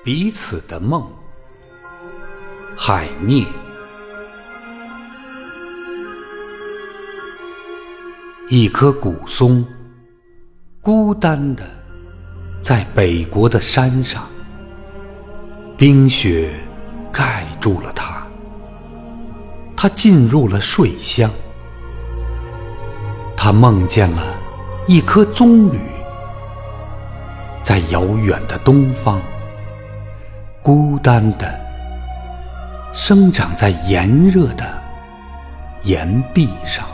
彼此的梦，海涅。一棵古松，孤单地在北国的山上，冰雪盖住了它，它进入了睡乡。它梦见了一颗棕榈，在遥远的东方，孤单地生长在炎热的岩壁上。